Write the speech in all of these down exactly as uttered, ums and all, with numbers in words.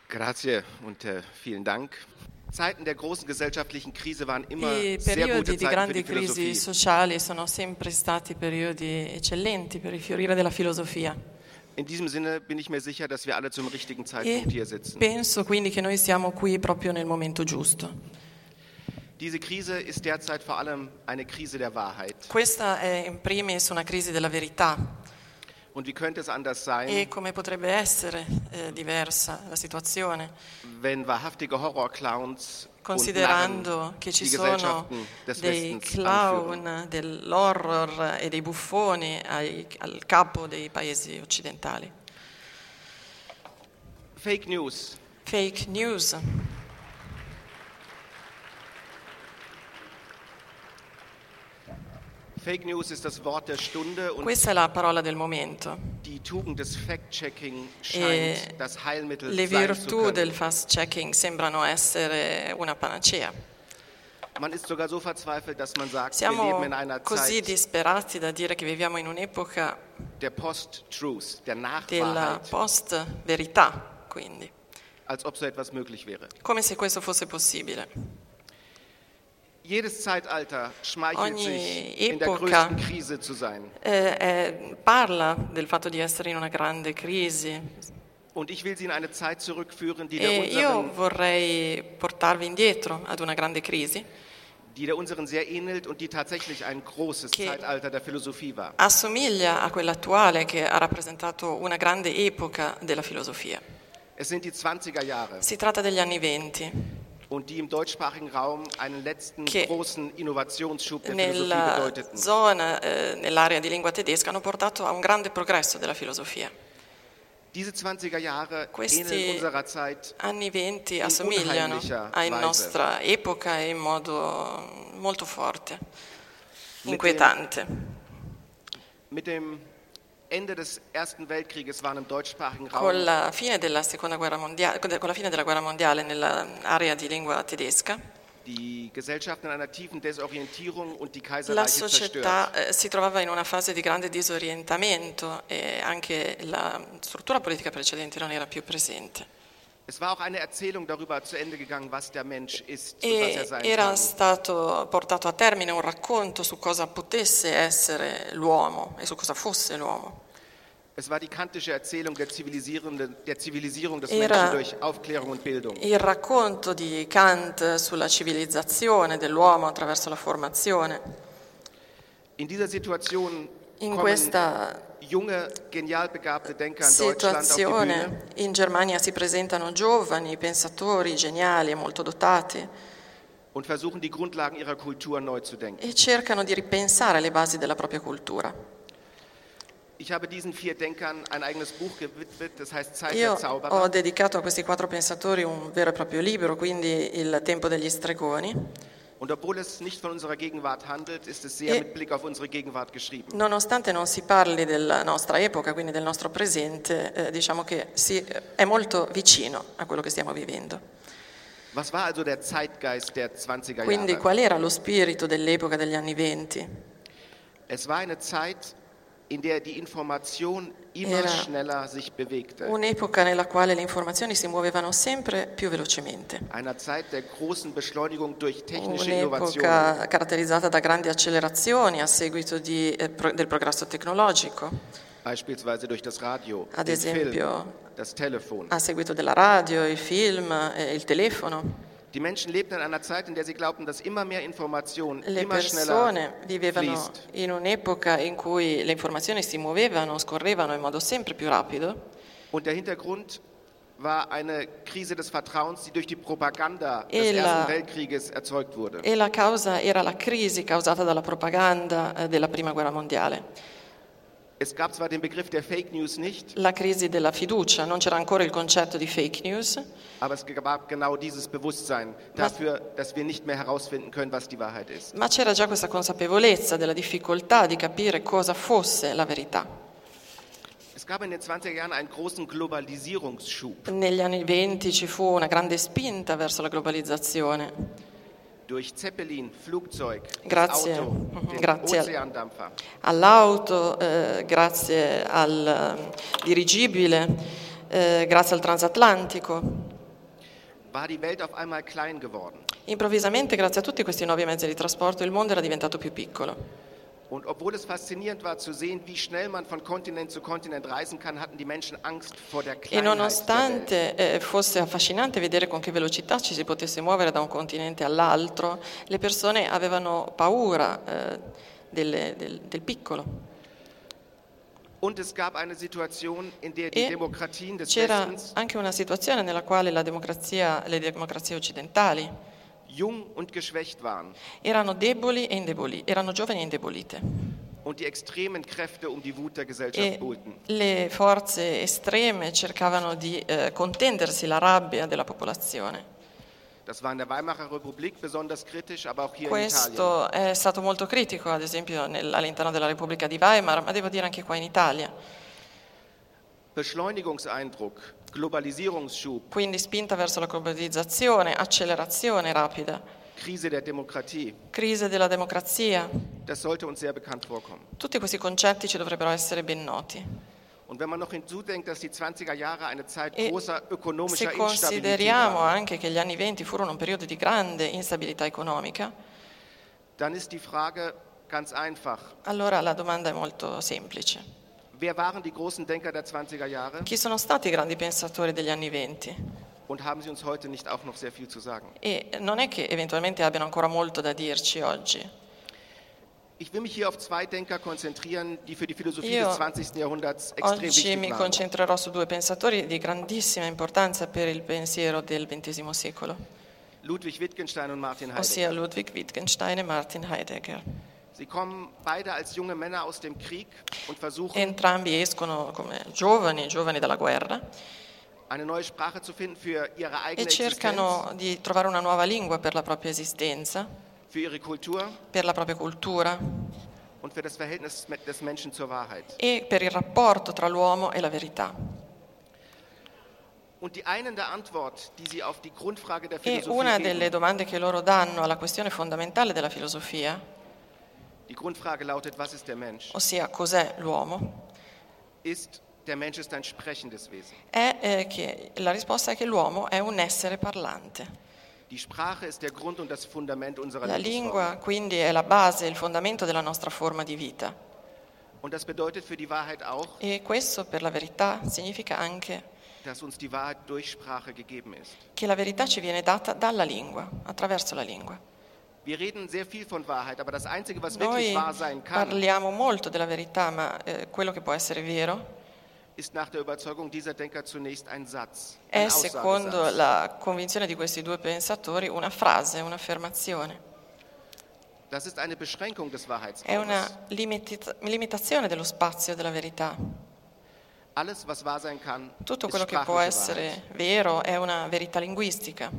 Grazie und äh, vielen Dank. Zeiten der großen gesellschaftlichen Krise waren immer I sehr periodi gute di Zeiten für grandi die crisi Philosophie. sociali sono sempre stati periodi eccellenti per il fiorire della filosofia. In diesem Sinne bin ich mir sicher, dass wir alle zum richtigen Zeitpunkt hier E sitzen. penso quindi che noi siamo qui proprio nel momento giusto. Diese Krise ist derzeit vor allem eine Krise der Wahrheit. Questa è in primis una crisi della verità. Und wie könnte es anders sein, E come potrebbe essere eh, diversa la situazione, wenn wahrhaftige Horrorclowns und considerando Narren che ci die sono Gesellschaften des dei Westens anführen? clown dell'horror e dei buffoni ai- al capo dei paesi occidentali. Fake News. Fake news. Fake News ist das Wort der Stunde und Questa è la parola del momento. die Tugend des Fact-Checking E scheint das Heilmittel le sein zu virtù können. del fast-checking sembrano essere una panacea. Man ist sogar so verzweifelt, dass man sagt, wir Siamo leben in einer così Zeit disperati da dire che viviamo in un'epoca der Post-Truth, der della Nachwahrheit, post-verità, quindi, als ob so etwas möglich wäre. come se questo fosse possibile. Jedes Zeitalter schmeichelt Ogni sich, in der epoca größten Krise zu sein. Eh, eh, parla del fatto di essere in una grande crisi Und ich will Sie in eine Zeit zurückführen, die der, e io unseren, vorrei portarvi indietro ad una grande crisi die der unseren sehr ähnelt und die tatsächlich ein großes Che- Zeitalter der Philosophie war. assomiglia a quella attuale che ha rappresentato una grande epoca della filosofia. Es sind die zwanziger Jahre Si tratta degli anni venti, und die im deutschsprachigen Raum einen letzten Che großen Innovationsschub der Philosophie nella bedeuteten. zona, eh, nell'area di lingua tedesca, hanno portato a un grande progresso della filosofia. Diese zwanziger Jahre Questi ähneln unserer Zeit anni venti in assomigliano unheimlicher alla Weise. nostra epoca in modo molto forte, dem- inquietante. Mit dem Ende des Ersten Weltkrieges waren im deutschsprachigen Con Raum la fine della seconda guerra mondiale, con la fine della guerra mondiale nell'area di lingua tedesca, die Gesellschaft in einer tiefen Desorientierung und die la Kaiserreiche società zerstört. eh, si trovava in una fase di grande disorientamento e anche la struttura politica precedente non era più presente. Es war auch eine Erzählung darüber zu Ende gegangen, was der Mensch ist und was er E sein era kann. stato portato a termine un racconto su cosa potesse essere l'uomo e su cosa fosse l'uomo. Es war die kantische Erzählung der, zivilisierenden, der Zivilisierung des Era- Menschen durch Aufklärung und Bildung. Il racconto di Kant sulla civilizzazione dell'uomo attraverso la formazione. In dieser Situation In kommen questa junge, genial begabte Denker in Deutschland auf die Bühne situazione in Germania si presentano giovani pensatori geniali e molto dotati und versuchen, die Grundlagen ihrer Kultur neu zu denken. e cercano di ripensare le basi della propria cultura. Ich habe diesen vier Denkern ein eigenes Buch gewidmet, das heißt Zeit Io der ho Zauberer. dedicato a questi quattro pensatori un vero e proprio libro, quindi Il tempo degli stregoni. Und obwohl es nicht von unserer Gegenwart handelt, ist es sehr E- mit Blick auf unsere Gegenwart geschrieben. Nonostante non si parli della nostra epoca, quindi del nostro presente, eh, diciamo che si, è molto vicino a quello che stiamo vivendo. Was war also der Zeitgeist der zwanziger Quindi Jahre? qual era lo spirito dell'epoca degli anni venti? Es war eine Zeit, in der die Information immer Era schneller sich bewegte. Un'epoca nella quale le informazioni si muovevano sempre più velocemente. Einer Zeit der großen Beschleunigung durch technische Innovationen. Un'epoca caratterizzata da grandi accelerazioni a seguito di, eh, pro- del progresso tecnologico, Beispielsweise durch das Radio, ad den Film, esempio das Telefon. a seguito della radio, il film, eh, il telefono. Die Menschen lebten in einer Zeit, in der sie glaubten, dass immer mehr Information Le immer persone schneller vivevano fließt. in un'epoca in cui le informazioni si muovevano, scorrevano in modo sempre più rapido Und der Hintergrund war eine Krise des Vertrauens, die durch die Propaganda des E la- Ersten Weltkrieges erzeugt wurde. e la causa era la crisi causata dalla propaganda eh, della Prima Guerra Mondiale. Es gab zwar den Begriff der Fake News nicht, La crisi della fiducia, non c'era ancora il concetto di fake news, aber es gab genau dieses Bewusstsein dafür, dass wir nicht mehr herausfinden können, was die Wahrheit ist. ma c'era già questa consapevolezza della difficoltà di capire cosa fosse la verità. Es gab in den zwanziger Jahren einen großen Globalisierungsschub Negli anni venti ci fu una grande spinta verso la globalizzazione. durch Zeppelin, Flugzeug, das Grazie. Auto, Mhm, den grazie. Ozeandampfer. All'auto, eh, grazie al eh, dirigibile, eh, grazie al transatlantico. war die Welt auf einmal klein geworden. Improvvisamente, grazie a tutti questi nuovi mezzi di trasporto, il mondo era diventato più piccolo. Und obwohl es faszinierend war zu sehen, wie schnell man von Kontinent zu Kontinent reisen kann, hatten die Menschen Angst vor der E Kleinheit der Welt. nonostante eh, fosse affascinante vedere con che velocità ci si potesse muovere da un continente all'altro, le persone avevano paura eh, delle- del, del piccolo. Und es gab eine Situation, in der die E Demokratien des c'era Westens anche una situazione nella quale la democrazia, le democrazie occidentali jung und geschwächt waren erano deboli e indeboli, erano giovani e indebolite. und die extremen Kräfte um die Wut der Gesellschaft E buhlten. le forze estreme cercavano di eh, contendersi la rabbia della popolazione. Das war in der Weimarer Republik besonders kritisch, aber auch hier in Italien. Questo è stato molto critico, ad esempio nel- all'interno della Repubblica di Weimar, ma devo dire anche qua in Italia. Beschleunigungseindruck, Globalisierungsschub, Quindi spinta verso la globalizzazione, accelerazione rapida, Krise der Demokratie, crisi della democrazia. das sollte uns sehr bekannt vorkommen. Tutti questi concetti ci dovrebbero essere ben noti. Und wenn man noch hinzudenkt, dass die zwanziger Jahre eine Zeit E großer ökonomischer se Instabilität consideriamo waren, anche che gli anni venti furono un periodo di grande instabilità economica, dann ist die Frage ganz einfach. allora la domanda è molto semplice. Wer waren die großen Denker der zwanziger Jahre Chi sono stati i grandi pensatori degli anni venti? und haben sie uns heute nicht auch noch sehr viel zu sagen? E non è che eventualmente abbiano ancora molto da dirci oggi. Ich will mich hier auf zwei Denker konzentrieren, die für die Philosophie Io des zwanzigsten Jahrhunderts extrem Oggi wichtig mi waren. concentrerò su due pensatori di grandissima importanza per il pensiero del ventesimo secolo, Ludwig Wittgenstein und Martin ossia Heidegger. Ludwig Wittgenstein e Martin Heidegger. Sie kommen beide als junge Männer aus dem Krieg und versuchen, Entrambi escono come giovani, giovani dalla guerra, eine neue Sprache zu finden für ihre e eigene cercano Existenz, di trovare una nuova lingua per la propria esistenza, für ihre Kultur per la propria cultura und für das Verhältnis des Menschen zur Wahrheit. e per il rapporto tra l'uomo e la verità. Und die einende Antwort, die sie auf die Grundfrage der E Philosophie una delle geben, domande che loro danno alla questione fondamentale della filosofia, die Grundfrage lautet, was ist der Mensch? ossia cos'è l'uomo, Ist, der Mensch ist ein sprechendes Wesen. è eh, che la risposta è che l'uomo è un essere parlante. Die Sprache ist der Grund und das Fundament unserer La Lebensform. lingua quindi è la base, il fondamento della nostra forma di vita. Und das bedeutet für die Wahrheit auch, E questo per la verità significa anche dass uns die Wahrheit durch Sprache gegeben ist. che la verità ci viene data dalla lingua, attraverso la lingua. Wir reden sehr viel von Wahrheit, aber das Einzige, was wirklich Noi wahr sein kann, parliamo molto della verità, ma eh, quello che può essere vero ist nach der Überzeugung dieser Denker zunächst ein Satz, è, ein secondo Aussagesatz. la convinzione di questi due pensatori, una frase, un'affermazione. Das ist eine Beschränkung des È Wahrheitsraumes. una limita- limitazione dello spazio della verità. Alles, was wahr sein kann, Tutto ist quello che può sprachliche essere Wahrheit. vero è una verità linguistica.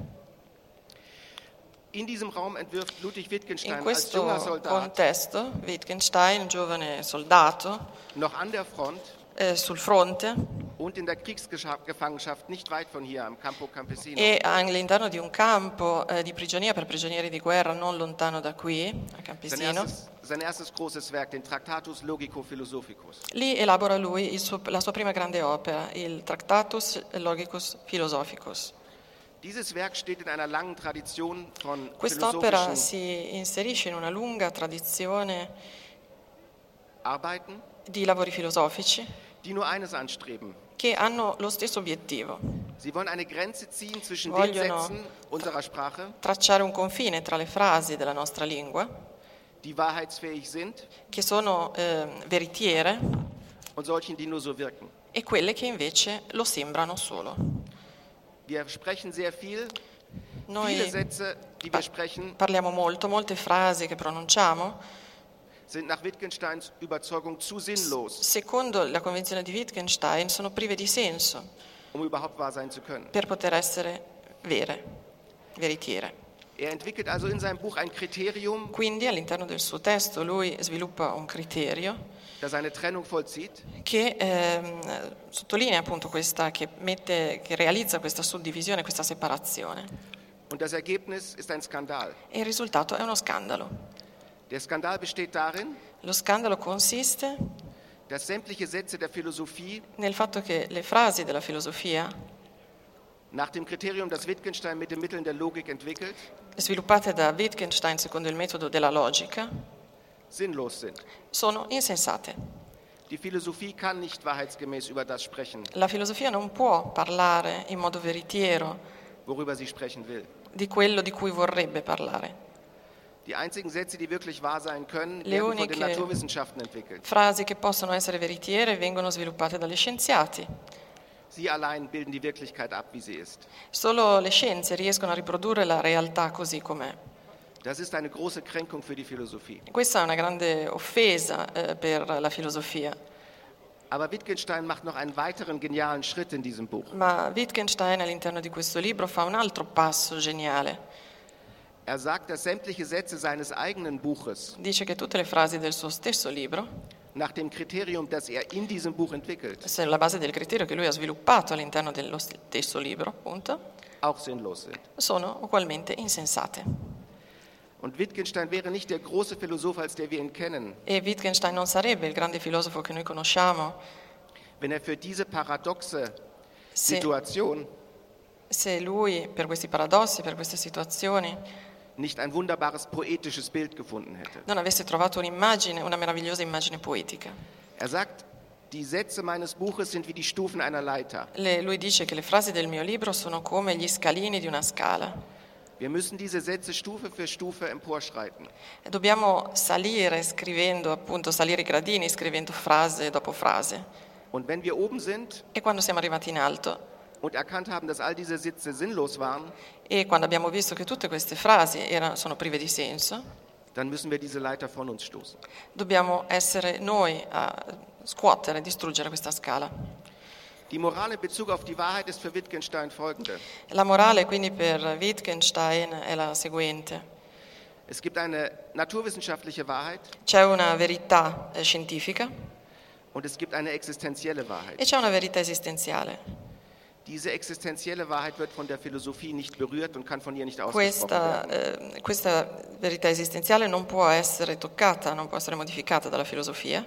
In diesem Raum entwirft Ludwig In Wittgenstein als questo junger Soldat contesto, Wittgenstein, giovane soldato, noch an der Front eh, sul fronte und in der Kriegsgefangenschaft nicht weit von hier am Campo Campesino e all'interno di un campo eh, di prigionia per prigionieri di guerra non lontano da qui, a sein Campesino. erstes, sein erstes großes Werk, den Tractatus Logico Philosophicus. Lì elabora lui il suo- la sua prima grande opera, il Tractatus Logicus Philosophicus. Dieses Werk steht in einer langen Tradition von Quest'opera philosophischen si inserisce in una lunga tradizione Arbeiten, di lavori filosofici die nur eines anstreben. che hanno lo stesso obiettivo: Sie wollen eine Grenze ziehen zwischen Vogliono- den Sätzen unserer Sprache, tracciare un confine tra le frasi della nostra lingua, die wahrheitsfähig sind, che sono eh, veritiere, und solchen, die nur so wirken. e quelle che invece lo sembrano solo. Wir sprechen sehr viel. Noi Viele Sätze, die wir sprechen, parliamo molto, molte frasi che pronunciamo, sind nach Wittgensteins Überzeugung zu sinnlos, secondo la convinzione di Wittgenstein, sono prive di senso um überhaupt wahr sein zu können. per poter essere vere, veritiere. Er entwickelt also in seinem Buch ein Kriterium, Quindi all'interno del suo testo lui sviluppa un criterio das eine Trennung vollzieht che ehm, sottolinea appunto questa, che, mette, che realizza questa suddivisione, questa separazione. und das Ergebnis ist ein Skandal. E il risultato è uno scandalo. Der Skandal besteht darin, Lo scandalo consiste dass sämtliche Sätze der Philosophie nel fatto che le frasi della filosofia Nach dem Kriterium, das Wittgenstein mit den Mitteln der Logik entwickelt, sviluppate da Wittgenstein secondo il metodo della logica, sinnlos sind. sono insensate. Die Philosophie kann nicht wahrheitsgemäß über das sprechen, La filosofia non può parlare in modo veritiero worüber sie sprechen will. di quello di cui vorrebbe parlare. Die einzigen Sätze, die wirklich wahr sein können, Le werden von den uniche Naturwissenschaften entwickelt. frasi che possono essere veritiere vengono sviluppate dagli scienziati. Sie allein bilden die Wirklichkeit ab, wie sie ist. Solo le scienze riescono a riprodurre la realtà così com'è. Das ist eine große Kränkung für die Philosophie. Questa è una grande offesa eh, per la filosofia. Aber Wittgenstein macht noch einen weiteren genialen Schritt in diesem Buch. Ma Wittgenstein all'interno di questo libro fa un altro passo geniale. Er sagt, dass sämtliche Sätze seines eigenen Buches Dice che tutte le frasi del suo stesso libro, nach dem Kriterium, das er in diesem Buch entwickelt, sulla base del criterio che lui ha sviluppato all'interno dello stesso libro, appunto, auch sinnlos sind. sono ugualmente insensate. Und Wittgenstein wäre nicht der große Philosoph, als der wir ihn kennen, E Wittgenstein non sarebbe il grande filosofo che noi conosciamo wenn er für diese paradoxe se, Situation se lui, per questi paradossi, per queste situazioni, nicht ein wunderbares poetisches Bild gefunden hätte. non avesse trovato un'immagine, una meravigliosa immagine poetica. Er sagt, die Sätze meines Buches sind wie die Stufen einer Leiter. Le- lui dice che le frasi del mio libro sono come gli scalini di una scala. Wir müssen diese Sätze Stufe für Stufe emporschreiten. E dobbiamo salire scrivendo, appunto, salire i gradini scrivendo frase dopo frase. Und wenn wir oben sind E quando siamo arrivati in alto und erkannt haben, dass all diese Sätze sinnlos waren, e quando abbiamo visto che tutte queste frasi erano, sono prive di senso, dann müssen wir diese Leiter von uns stoßen. dobbiamo essere noi a scuotere, distruggere questa scala. Die Moral in Bezug auf die Wahrheit ist für Wittgenstein folgende. La morale quindi per Wittgenstein è la seguente. Es gibt eine naturwissenschaftliche Wahrheit C'è una verità eh, scientifica und es gibt eine existenzielle Wahrheit. e c'è una verità esistenziale. Diese existenzielle Wahrheit wird von der Philosophie nicht berührt und kann von ihr nicht ausgesprochen Questa, werden. eh, questa verità esistenziale non può essere toccata, non può essere modificata dalla filosofia.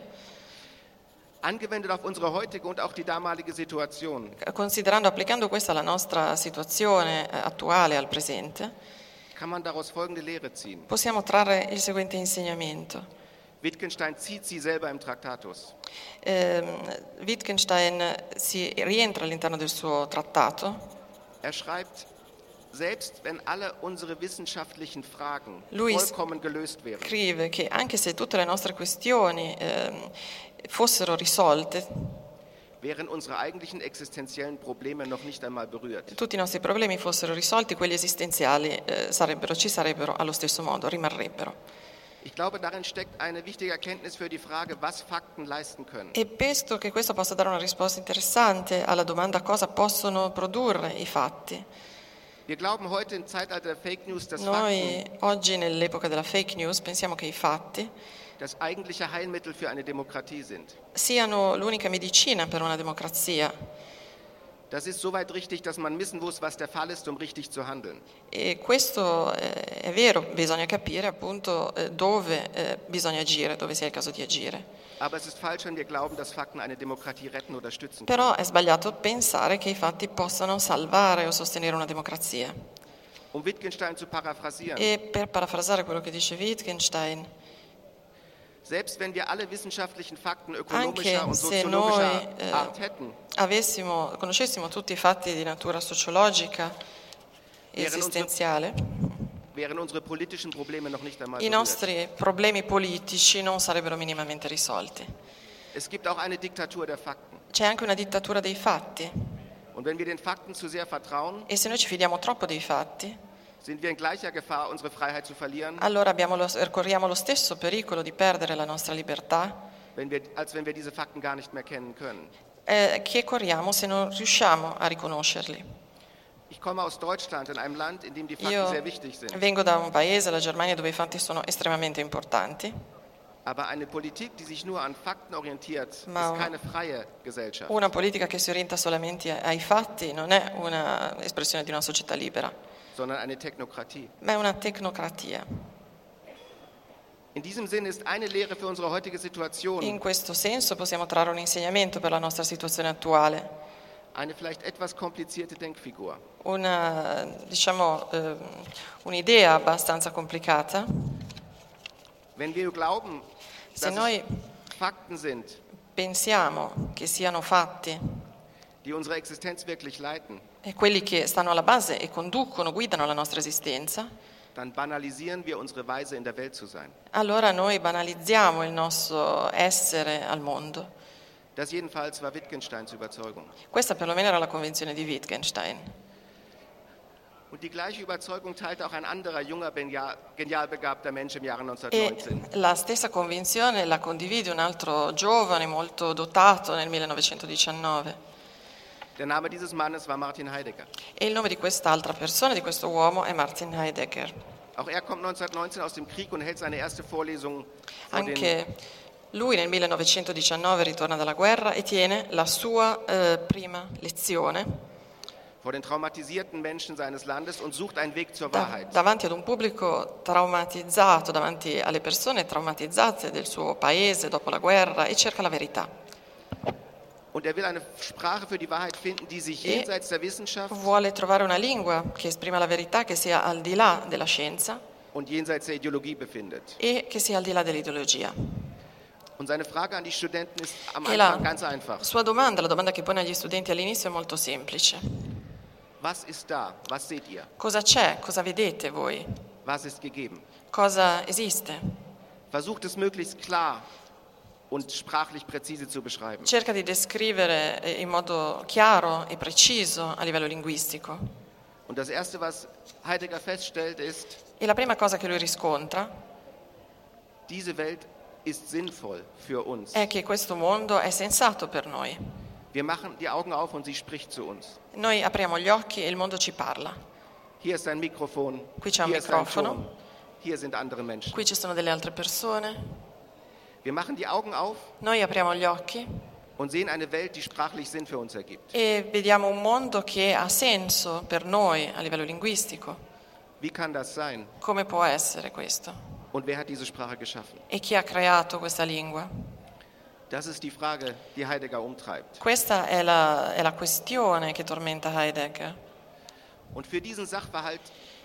Angewendet auf unsere heutige und auch die damalige Situation Considerando, applicando questa alla nostra situazione eh, attuale, al presente, kann man daraus folgende Lehre ziehen. possiamo trarre il seguente insegnamento. Wittgenstein zieht sie selber im Traktatus. Eh, Wittgenstein si rientra all'interno del suo trattato. Er schreibt, selbst wenn alle unsere wissenschaftlichen Fragen Lui vollkommen gelöst wären, scrive che anche se tutte le nostre questioni ehm, fossero risolte, wären unsere eigentlichen existenziellen Probleme noch nicht einmal berührt. tutti i nostri problemi fossero risolti, quelli esistenziali eh, sarebbero, ci sarebbero allo stesso modo, rimarrebbero. Ich glaube, darin steckt eine wichtige Erkenntnis für die Frage, was Fakten leisten können. E penso che questo possa dare una risposta interessante alla domanda cosa possono produrre i fatti. Wir glauben heute im Zeitalter der Fake News, dass Noi Fakten oggi nell'epoca della fake news pensiamo che i fatti das eigentliche Heilmittel für eine Demokratie sind. siano l'unica medicina per una democrazia. Das ist soweit richtig, dass man wissen muss, was der Fall ist, um richtig zu handeln. E questo eh, è vero, bisogna capire appunto eh, dove eh, bisogna agire, dove sia il caso di agire. Aber es ist falsch, wenn wir glauben, dass Fakten eine Demokratie retten oder stützen können. Però è sbagliato pensare che i fatti possano salvare o sostenere una democrazia. Um Wittgenstein zu paraphrasieren, E per parafrasare quello che dice Wittgenstein, selbst wenn wir alle wissenschaftlichen Fakten ökonomischer anche und se soziologischer noi eh, Art hätten, avessimo, conoscessimo tutti i fatti di natura sociologica e Wären unsere- esistenziale, wären unsere politischen Probleme noch nicht einmal i berührt. nostri problemi politici non sarebbero minimamente risolti. Es gibt auch eine Diktatur der Fakten. C'è anche una dittatura dei fatti Und wenn wir den Fakten zu sehr vertrauen, e se noi ci fidiamo troppo dei fatti, sind wir in gleicher Gefahr, unsere Freiheit zu verlieren, allora abbiamo lo, corriamo lo stesso pericolo di perdere la nostra libertà wenn wir, als wenn wir diese Fakten gar nicht mehr kennen können. eh, che corriamo se non riusciamo a riconoscerli. Ich komme aus Deutschland, in einem Land, in dem die Fakten Io sehr wichtig sind. vengo da un paese, la Germania, dove i fatti sono estremamente importanti, Aber eine Politik, die sich nur an Fakten orientiert, Ma- ist keine freie Gesellschaft. una politica che si orienta solamente ai fatti non è un'espressione di una società libera, sondern eine Technokratie. ma è una tecnocratia. In diesem Sinn ist eine Lehre für unsere heutige Situation, In questo senso possiamo trarre un insegnamento per la nostra situazione attuale. Eine vielleicht etwas komplizierte Denkfigur. Una, diciamo, eh, un'idea abbastanza complicata. Wenn wir glauben, Se dass noi es Fakten sind, pensiamo che siano fatti die unsere Existenz wirklich leiten, e quelli che stanno alla base e conducono, guidano la nostra esistenza, dann banalisieren wir unsere Weise in der Welt zu sein. allora noi banalizziamo il nostro essere al mondo. Das jedenfalls war Wittgensteins Überzeugung. Questa perlomeno era la convinzione di Wittgenstein. Und die gleiche Überzeugung teilte auch ein anderer junger, genial, genial begabter Mensch im Jahre E neunzehnhundertneunzehn. la stessa convinzione la condivide un altro giovane molto dotato nel millenovecentodiciannove. Der Name dieses Mannes war Martin Heidegger. E il nome di quest'altra persona, di questo uomo, è Martin Heidegger. Auch er kommt neunzehnhundertneunzehn aus dem Krieg und hält seine erste Vorlesung vor den, Anche lui nel millenovecentodiciannove ritorna dalla guerra e tiene la sua eh, prima lezione vor den traumatisierten Menschen seines Landes und sucht einen Weg zur da- Wahrheit. davanti ad un pubblico traumatizzato, davanti alle persone traumatizzate del suo paese dopo la guerra e cerca la verità. Und er will eine Sprache für die Wahrheit finden, die sich E jenseits der Wissenschaft vuole trovare una lingua che esprima la verità, che sia al di là della scienza und jenseits der Ideologie befindet. e che sia al di là dell'ideologia. Und seine Frage an die Studenten ist am E la Anfang ganz einfach. sua domanda, la domanda che pone agli studenti all'inizio è molto semplice. Was ist da? Was seht ihr? Cosa c'è? Cosa vedete voi? Was ist gegeben? Cosa esiste? Versucht es möglichst klar und sprachlich präzise zu beschreiben. Cerca di descrivere eh, in modo chiaro e preciso a livello linguistico. Und das Erste, was Heidegger feststellt, ist, E la prima cosa che lui riscontra diese Welt ist sinnvoll für uns. è che questo mondo è sensato per noi. Wir machen die Augen auf und sie spricht zu uns. Noi apriamo gli occhi e il mondo ci parla. Hier ist ein Mikrofon, Qui c'è un hier ist ein microfono. Ton, hier sind andere Menschen. Qui ci sono delle altre persone. Wir machen die Augen auf Noi apriamo gli occhi und sehen eine Welt, die sprachlich Sinn für uns ergibt. e vediamo un mondo che ha senso per noi a livello linguistico. Wie kann das sein? Come può essere questo? Und wer hat diese Sprache geschaffen? E chi ha creato questa lingua? Das ist die Frage, die Heidegger umtreibt. Questa è la, è la questione che tormenta Heidegger. Und für diesen Sachverhalt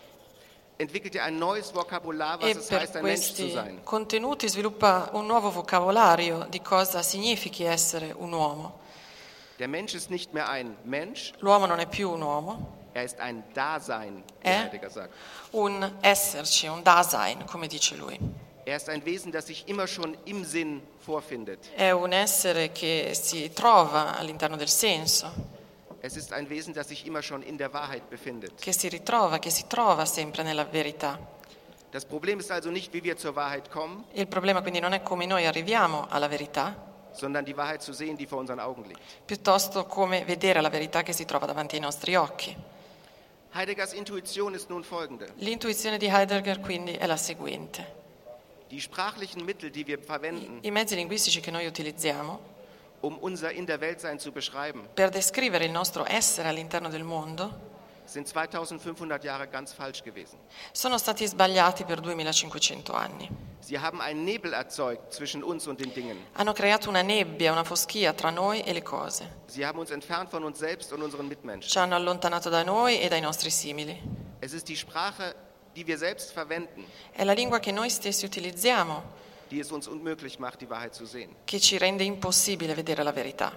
entwickelt er ein neues Vokabular, was E es per heißt, ein Mensch zu questi sein. contenuti sviluppa un nuovo vocabolario di cosa significhi essere un uomo. Der Mensch ist nicht mehr ein Mensch, L'uomo non è più un uomo, er ist ein Dasein, wie Eh? Heidegger sagt. un esserci, un Dasein, come dice lui. Er ist ein Wesen, das sich immer schon im Sinn vorfindet. È un essere che si trova all'interno del senso, Es ist ein Wesen, das sich immer schon in der Wahrheit befindet. che si ritrova, che si trova sempre nella verità. Das Problem ist also nicht, wie wir zur Wahrheit kommen, Il problema quindi non è come noi arriviamo alla verità, sondern die Wahrheit zu sehen, die vor unseren Augen liegt. piuttosto come vedere la verità che si trova davanti ai nostri occhi. Heideggers Intuition ist nun folgende. L'intuizione di Heidegger quindi è la seguente. Die sprachlichen Mittel, die wir verwenden, I mezzi linguistici che noi utilizziamo um unser in der Weltsein zu beschreiben, per descrivere il nostro essere all'interno del mondo sind zweitausendfünfhundert Jahre ganz falsch gewesen. sono stati sbagliati per duemilacinquecento anni. Sie haben einen Nebel erzeugt zwischen uns und den Dingen. Hanno creato una nebbia, una foschia tra noi e le cose. Sie haben uns entfernt von uns selbst und unseren Mitmenschen. Ci hanno allontanato da noi e dai nostri simili. Es ist die Sprache, die wir selbst verwenden, È la lingua che noi stessi utilizziamo die es uns unmöglich macht, die Wahrheit zu sehen. che ci rende impossibile vedere la verità.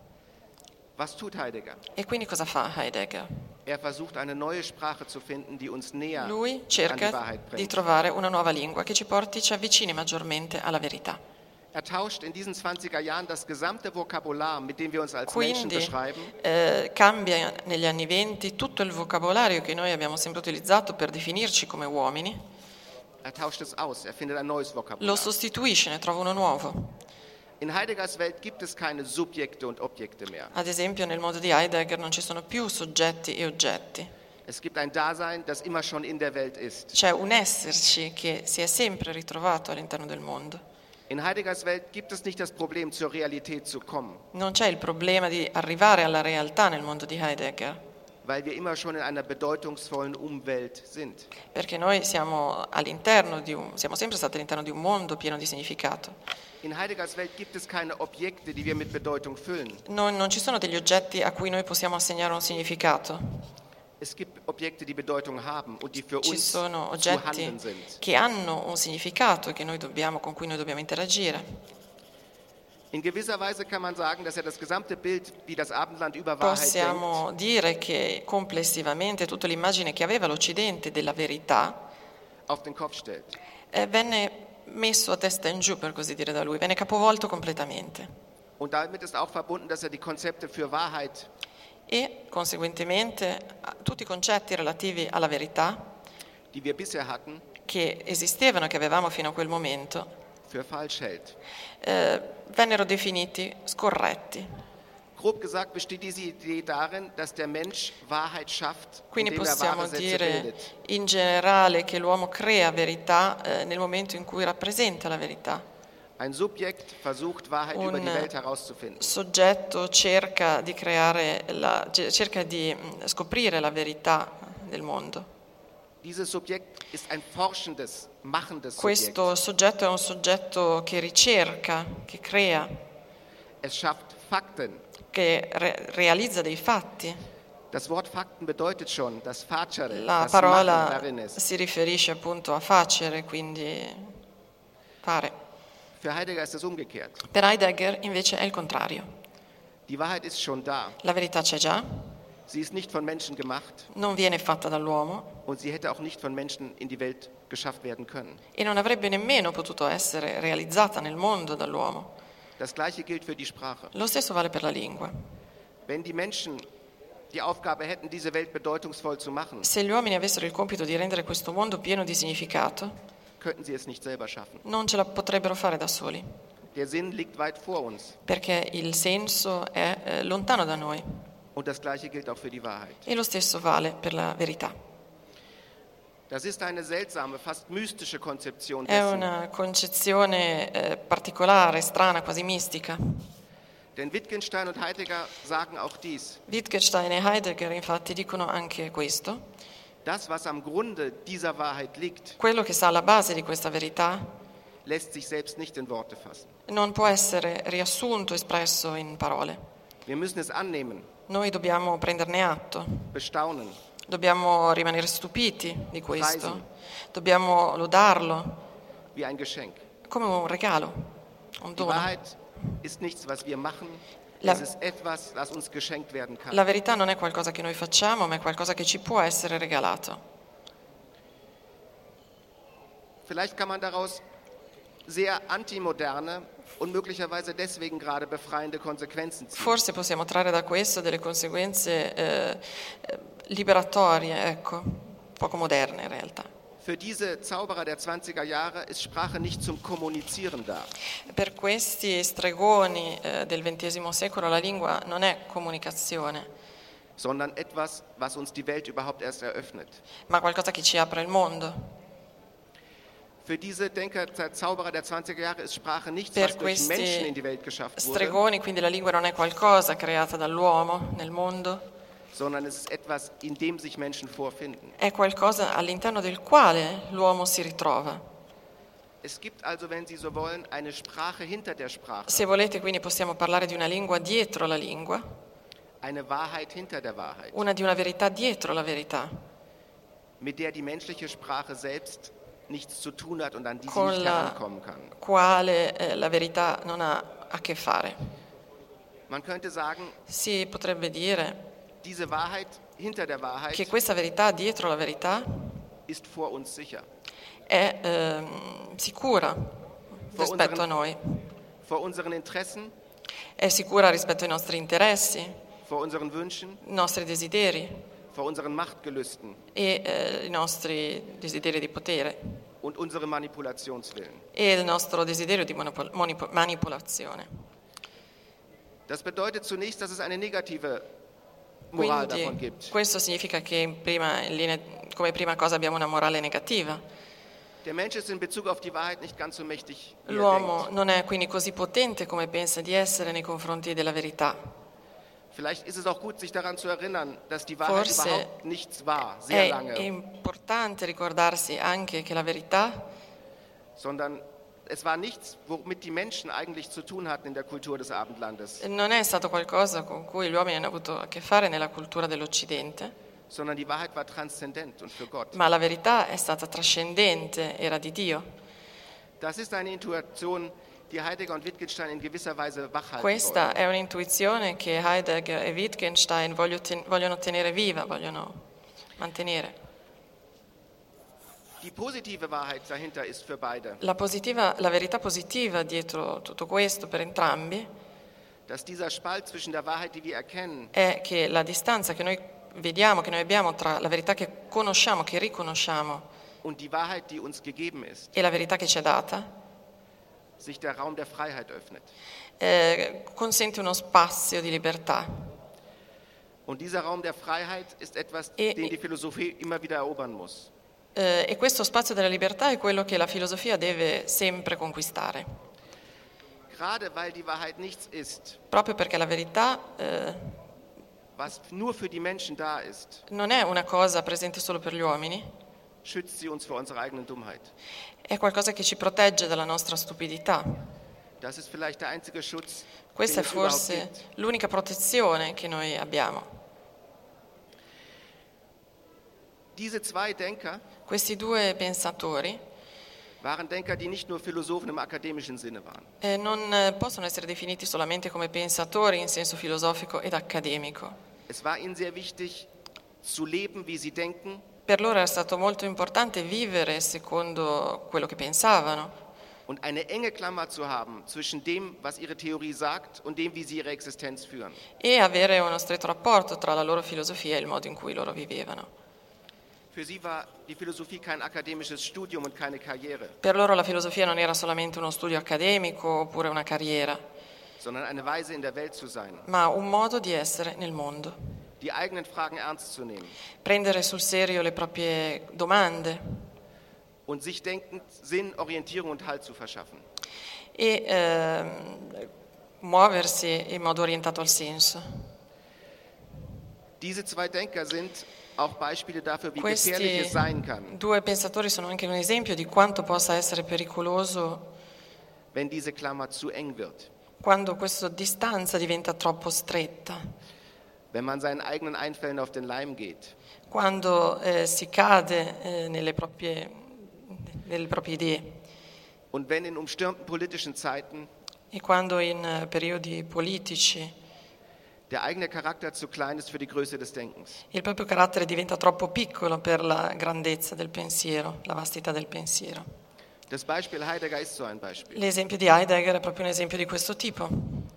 Was tut Heidegger? E quindi cosa fa Heidegger? Er versucht, eine neue Sprache zu finden, die uns näher Lui an die cerca Wahrheit di bringt. trovare una nuova lingua che ci porti, ci avvicini maggiormente alla verità. Er tauscht in diesen zwanziger Jahren das gesamte Vokabular, mit dem wir uns als Menschen Quindi beschreiben, eh, cambia negli anni venti tutto il vocabolario che noi abbiamo sempre utilizzato per definirci come uomini, er tauscht es aus, er findet ein neues lo Vokabular. sostituisce, ne trova uno nuovo. In Heideggers Welt gibt es keine Subjekte und Objekte mehr. Ad esempio nel mondo di Heidegger non ci sono più soggetti e oggetti, Es gibt ein Dasein, das immer schon in der Welt ist. c'è un esserci che si è sempre ritrovato all'interno del mondo. In Heideggers Welt gibt es nicht das Problem, zur Realität zu kommen. Non c'è il problema di arrivare alla realtà nel mondo di Heidegger. weil wir immer schon in einer bedeutungsvollen Umwelt sind. Perché noi siamo all'interno di un, siamo sempre stati all'interno di un mondo pieno di significato. In Heideggers Welt gibt es keine Objekte, die wir mit Bedeutung füllen. Non, non ci sono degli oggetti a cui noi possiamo assegnare un significato. Es gibt Objekte, die Bedeutung haben und die für Ci uns sono zu oggetti handeln sind. che hanno un significato e che noi dobbiamo, con cui noi dobbiamo interagire. In gewisser Weise kann man sagen, dass er das gesamte Bild, wie das Abendland über Wahrheit Possiamo dire che complessivamente tutta l'immagine che aveva l'Occidente della verità denkt, auf den Kopf stellt. eh, venne messo a testa in giù, per così dire, da lui, venne capovolto completamente. Und damit ist auch verbunden, dass er die Konzepte für Wahrheit E conseguentemente a- tutti i concetti relativi alla verità die wir bisher hatten, che esistevano, che avevamo fino a quel momento, für falsch hält. eh, vennero definiti scorretti. Grob gesagt besteht diese Idee darin, dass der Mensch Wahrheit schafft, Quindi indem er possiamo wahre Sätze dire bildet. in generale che l'uomo crea verità eh, nel momento in cui rappresenta la verità. Ein Subjekt versucht, Wahrheit über die Un Welt herauszufinden. soggetto cerca di creare, la, cerca di mm, scoprire la verità del mondo. Dieses Subjekt ist ein forschendes, machendes Subjekt. Questo soggetto è un soggetto che ricerca, che crea, Es schafft Fakten. che re- realizza dei fatti. Das Wort Fakten bedeutet schon, das Facere, La das Machen parola darin ist. si riferisce appunto a facere, quindi fare. Für Heidegger ist es umgekehrt. Per Heidegger invece è il contrario. Die Wahrheit ist schon da. La verità c'è già, Sie ist nicht von Menschen gemacht non viene fatta dall'uomo und sie hätte auch nicht von Menschen in die Welt geschafft werden können. e non avrebbe nemmeno potuto essere realizzata nel mondo dall'uomo. Das Gleiche gilt für die Sprache. Lo stesso vale per la lingua. Wenn die Menschen die Aufgabe hätten, diese Welt bedeutungsvoll zu machen, Se gli uomini avessero il compito di rendere questo mondo pieno di significato, könnten sie es nicht selber schaffen. non ce la potrebbero fare da soli, Der Sinn liegt weit vor uns. perché il senso è eh, lontano da noi. Und das Gleiche gilt auch für die Wahrheit. E lo stesso vale per la verità. Das ist eine seltsame, fast mystische Konzeption È dessen. una concezione eh, particolare, strana, quasi mistica. Denn Wittgenstein und Heidegger sagen auch dies. Wittgenstein e Heidegger infatti dicono anche questo. Das, was am Grunde dieser Wahrheit liegt, Quello che sta alla base di questa verità lässt sich selbst nicht in Worte fassen. non può essere riassunto, espresso in parole. Wir müssen es annehmen, Noi dobbiamo prenderne atto, bestaunen, dobbiamo rimanere stupiti di questo, Preisen. dobbiamo lodarlo wie ein Geschenk. come un regalo, un Die dono. Wahrheit ist nichts, was wir machen. La- Es ist etwas, das uns geschenkt werden kann. La verità non è qualcosa che noi facciamo, ma è qualcosa che ci può essere regalato. Vielleicht kann man daraus sehr antimoderne und möglicherweise deswegen gerade befreiende Konsequenzen ziehen. Forse possiamo trarre da questo delle conseguenze eh, eh, liberatorie, ecco, poco moderne in realtà. Für diese Zauberer der zwanziger Jahre ist Sprache nicht zum Kommunizieren da. Per questi stregoni eh, del ventesimo secolo la lingua non è comunicazione, sondern etwas, was uns die Welt überhaupt erst eröffnet. ma qualcosa che ci apre il mondo. Für diese Denker, Zauberer der zwanziger Jahre ist Sprache nichts, Per was durch Menschen questi in die Welt geschafft wurde, stregoni, quindi la lingua non è qualcosa creata dall'uomo nel mondo, sondern es ist etwas, in dem sich Menschen vorfinden. è qualcosa all'interno del quale l'uomo si ritrova. Es gibt also, wenn Sie so wollen, eine Sprache hinter der Sprache, Se volete, quindi possiamo parlare di una lingua dietro la lingua, eine Wahrheit hinter der Wahrheit, una di una verità dietro la verità, mit der die menschliche Sprache selbst nichts zu tun hat und an die sie con nicht la herankommen kann. quale eh, la verità non ha a che fare. Man könnte sagen, Si potrebbe dire diese Wahrheit hinter der Wahrheit che questa verità dietro la verità ist vor uns sicher. è ehm, sicura rispetto a noi, Vor unseren Interessen, è sicura rispetto ai nostri interessi, vor unseren Wünschen, i nostri desideri vor unseren Machtgelüsten e eh, i nostri desideri di potere und unserem Manipulationswillen. e il nostro desiderio di monopol- manip- manipolazione. Das bedeutet zunächst, dass es eine negative Moral davon Quindi gibt. questo significa che in prima, in linea, come prima cosa abbiamo una morale negativa. Der Mensch ist in Bezug auf die Wahrheit nicht ganz so mächtig, wie er L'uomo denkt. non è quindi così potente come pensa di essere nei confronti della verità. Vielleicht ist es auch gut, sich daran zu erinnern, dass die Wahrheit Forse überhaupt nichts war, sehr È lange, importante ricordarsi anche che la verità sondern es war nichts, womit die Menschen eigentlich zu tun hatten in der Kultur des Abendlandes, non è stato qualcosa con cui gli uomini hanno avuto a che fare nella cultura dell'Occidente, sondern die Wahrheit war transzendent und für Gott. ma la verità è stata trascendente, era di Dio. Das ist eine Intuition, die Heidegger und Wittgenstein in gewisser Weise wachhalten Questa wollen. è un'intuizione che Heidegger e Wittgenstein voglio ten- vogliono tenere viva, vogliono mantenere. Die positive Wahrheit dahinter ist für beide, La, positiva- la verità positiva dietro tutto questo per entrambi dass dieser Spalt zwischen der Wahrheit, die wir erkennen, è che la distanza che noi vediamo, che noi abbiamo tra la verità che conosciamo, che riconosciamo und die Wahrheit, die uns gegeben ist, e la verità che ci è data, sich der Raum der Freiheit öffnet. eh, consente uno spazio di libertà. Und dieser Raum der Freiheit ist etwas, E- den die Philosophie immer wieder erobern muss. Eh, e questo spazio della libertà è quello che la filosofia deve sempre conquistare, Gerade weil die Wahrheit nichts ist, proprio perché la verità eh, was nur für die Menschen da ist, non è una cosa presente solo per gli uomini, schützt sie uns vor unserer eigenen Dummheit. è qualcosa che ci protegge dalla nostra stupidità. Das ist vielleicht der einzige Schutz, Questa den è es überhaupt forse gibt. l'unica protezione che noi abbiamo. Diese zwei Denker Questi due pensatori waren Denker, die nicht nur Philosophen im akademischen Sinne waren. eh, non eh, possono essere definiti solamente come pensatori in senso filosofico ed accademico. Es war ihnen sehr wichtig, zu leben, wie sie denken, Per loro era stato molto importante vivere secondo quello che pensavano und eine enge Klammer zu haben zwischen dem, was ihre Theorie sagt, und dem, wie sie ihre Existenz führen. e avere uno stretto rapporto tra la loro filosofia e il modo in cui loro vivevano. Für sie war die Philosophie kein akademisches Studium und keine Karriere, Per loro la filosofia non era solamente uno studio accademico oppure una carriera, sondern eine Weise, in der Welt zu sein, ma un modo di essere nel mondo. die eigenen Fragen ernst zu nehmen Prendere sul serio le proprie domande und sich denkend Sinn, Orientierung und Halt zu verschaffen. e ehm, muoversi in modo orientato al senso. Diese zwei Denker sind auch Beispiele dafür, wie gefährlich Questi es sein kann, due pensatori sono anche un esempio di quanto possa essere pericoloso wenn diese Klammer zu eng wird, quando questa distanza diventa troppo stretta, wenn man seinen eigenen Einfällen auf den Leim geht, quando eh, si cade eh, nelle proprie, nelle proprie idee und wenn in umstürmten politischen Zeiten e quando in eh, periodi politici der eigene Charakter zu klein ist für die Größe des Denkens. il proprio carattere diventa troppo piccolo per la grandezza del pensiero, la vastità del pensiero. Das Beispiel Heidegger ist so ein Beispiel. L'esempio di Heidegger è proprio un esempio di questo tipo.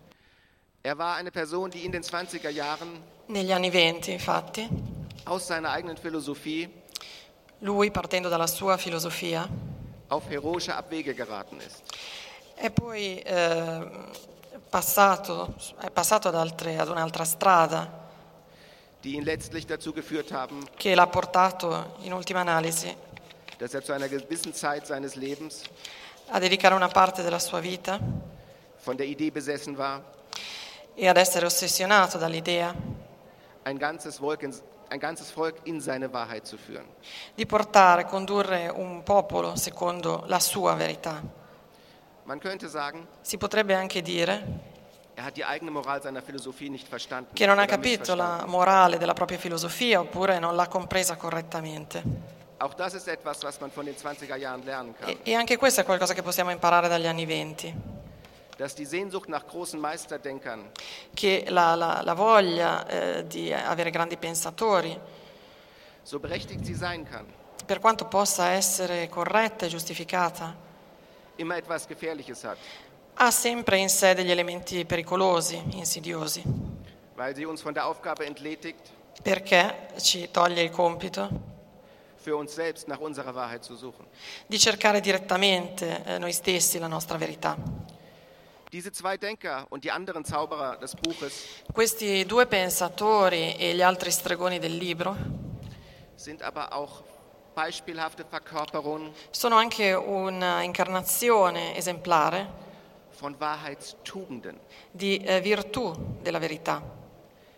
Er war eine Person, die in den zwanziger Jahren Negli anni venti, infatti, aus seiner eigenen Philosophie lui, partendo dalla sua filosofia, auf heroische Abwege geraten ist. è poi eh, passato, è passato ad, altre, ad un'altra strada Die ihn letztlich dazu geführt haben, che l'ha portato, in ultima analisi, dass er zu einer gewissen Zeit seines Lebens a dedicare una parte della sua vita von der Idee besessen war, e ad essere ossessionato dall'idea ein ganzes Volk in, ein ganzes Volk in seine Wahrheit zu führen. di portare, condurre un popolo secondo la sua verità. Man könnte sagen, Si potrebbe anche dire er hat die eigene Moral seiner Philosophie nicht verstanden. che non ha oder capito la missverstanden. morale della propria filosofia oppure non l'ha compresa correttamente. Auch das ist etwas, was man von den zwanziger Jahren lernen kann. E, e anche questo è qualcosa che possiamo imparare dagli anni venti, Dass die Sehnsucht nach großen Meisterdenkern che la, la, la voglia eh, di avere grandi pensatori, so berechtigt sie sein kann, per quanto possa essere corretta e giustificata, immer etwas Gefährliches hat, ha sempre in sé degli elementi pericolosi, insidiosi, weil sie uns von der Aufgabe entledigt, perché ci toglie il compito für uns selbst nach unserer Wahrheit zu suchen. di cercare direttamente eh, noi stessi la nostra verità. Diese zwei Denker und die anderen Zauberer des Buches Questi due pensatori e gli altri stregoni del libro sind aber auch beispielhafte Verkörperungen sono anche un'incarnazione esemplare von Wahrheitstugenden. di eh, virtù della verità.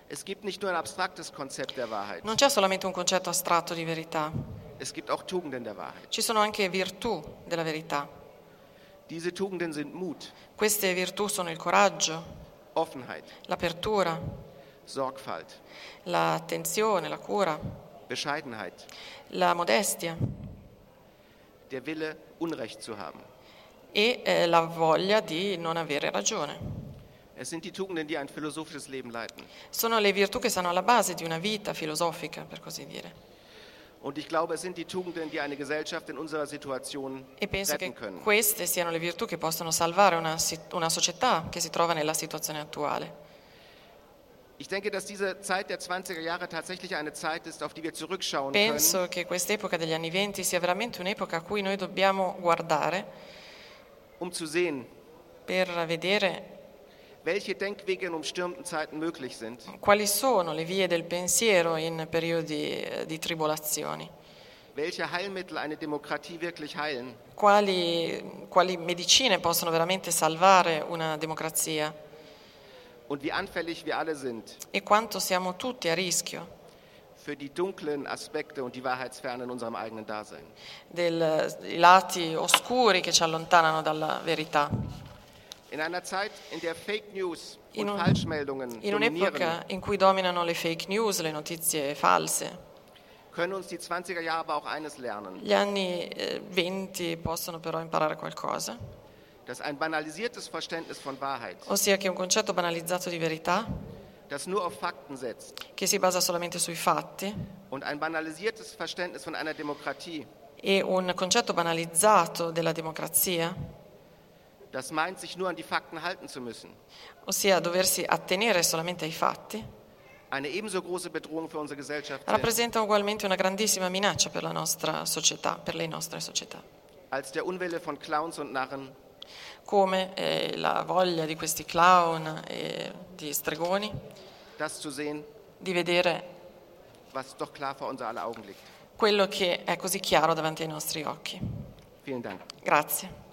Es gibt nicht nur ein abstraktes Konzept der Wahrheit, Non c'è solamente un concetto astratto di verità, es gibt auch Tugenden der Wahrheit. ci sono anche virtù della verità. Diese Tugenden sind Mut, Queste virtù sono il coraggio, Offenheit, l'apertura, Sorgfalt, l'attenzione, la cura, Bescheidenheit, la modestia der Wille, Unrecht zu haben. e eh, la voglia di non avere ragione. Es sind die Tugenden, die ein philosophisches Leben leiten. Sono le virtù che stanno alla base di una vita filosofica, per così dire. Und ich glaube, es sind die Tugenden, die eine Gesellschaft in unserer Situation E penso che retten können. queste siano le virtù che possono salvare una, si- una società che si trova nella situazione attuale. Ich denke, dass diese Zeit der zwanziger Jahre tatsächlich eine Zeit ist, auf die wir zurückschauen Penso können, che quest'epoca degli anni venti sia veramente un'epoca a cui noi dobbiamo guardare um zu sehen, per vedere welche Denkwege in umstürmten Zeiten möglich sind, quali sono le vie del pensiero in periodi eh, di tribolazioni, welche Heilmittel eine Demokratie wirklich heilen quali, quali medicine possono veramente salvare una democrazia und wie anfällig wir alle sind e quanto siamo tutti a rischio für die dunklen Aspekte und die Wahrheitsferne in unserem eigenen Dasein. del- dei lati oscuri che ci allontanano dalla verità. In einer Zeit, in der Fake News In, und un- Falschmeldungen in dominieren, un'epoca in cui dominano le fake news, le notizie false, können uns die zwanziger Jahre aber auch eines lernen, gli anni eh, venti possono però imparare qualcosa, dass ein banalisiertes Verständnis von Wahrheit, ossia che un concetto banalizzato di verità, das nur auf Fakten setzt, che si basa solamente sui fatti, und ein banalisiertes Verständnis von einer Demokratie, e un concetto banalizzato della democrazia, das meint, sich nur an die Fakten halten zu müssen, ossia doversi attenere solamente ai fatti, eine ebenso große Bedrohung für unsere Gesellschaft sind, rappresenta ugualmente una grandissima minaccia per la nostra società, per le nostre società, als der Unwille von Clowns und Narren, come eh, la voglia di questi clown e di stregoni das zu sehen, di vedere was doch klar vor unser aller Augen liegt. quello che è così chiaro davanti ai nostri occhi. Vielen Dank. Grazie.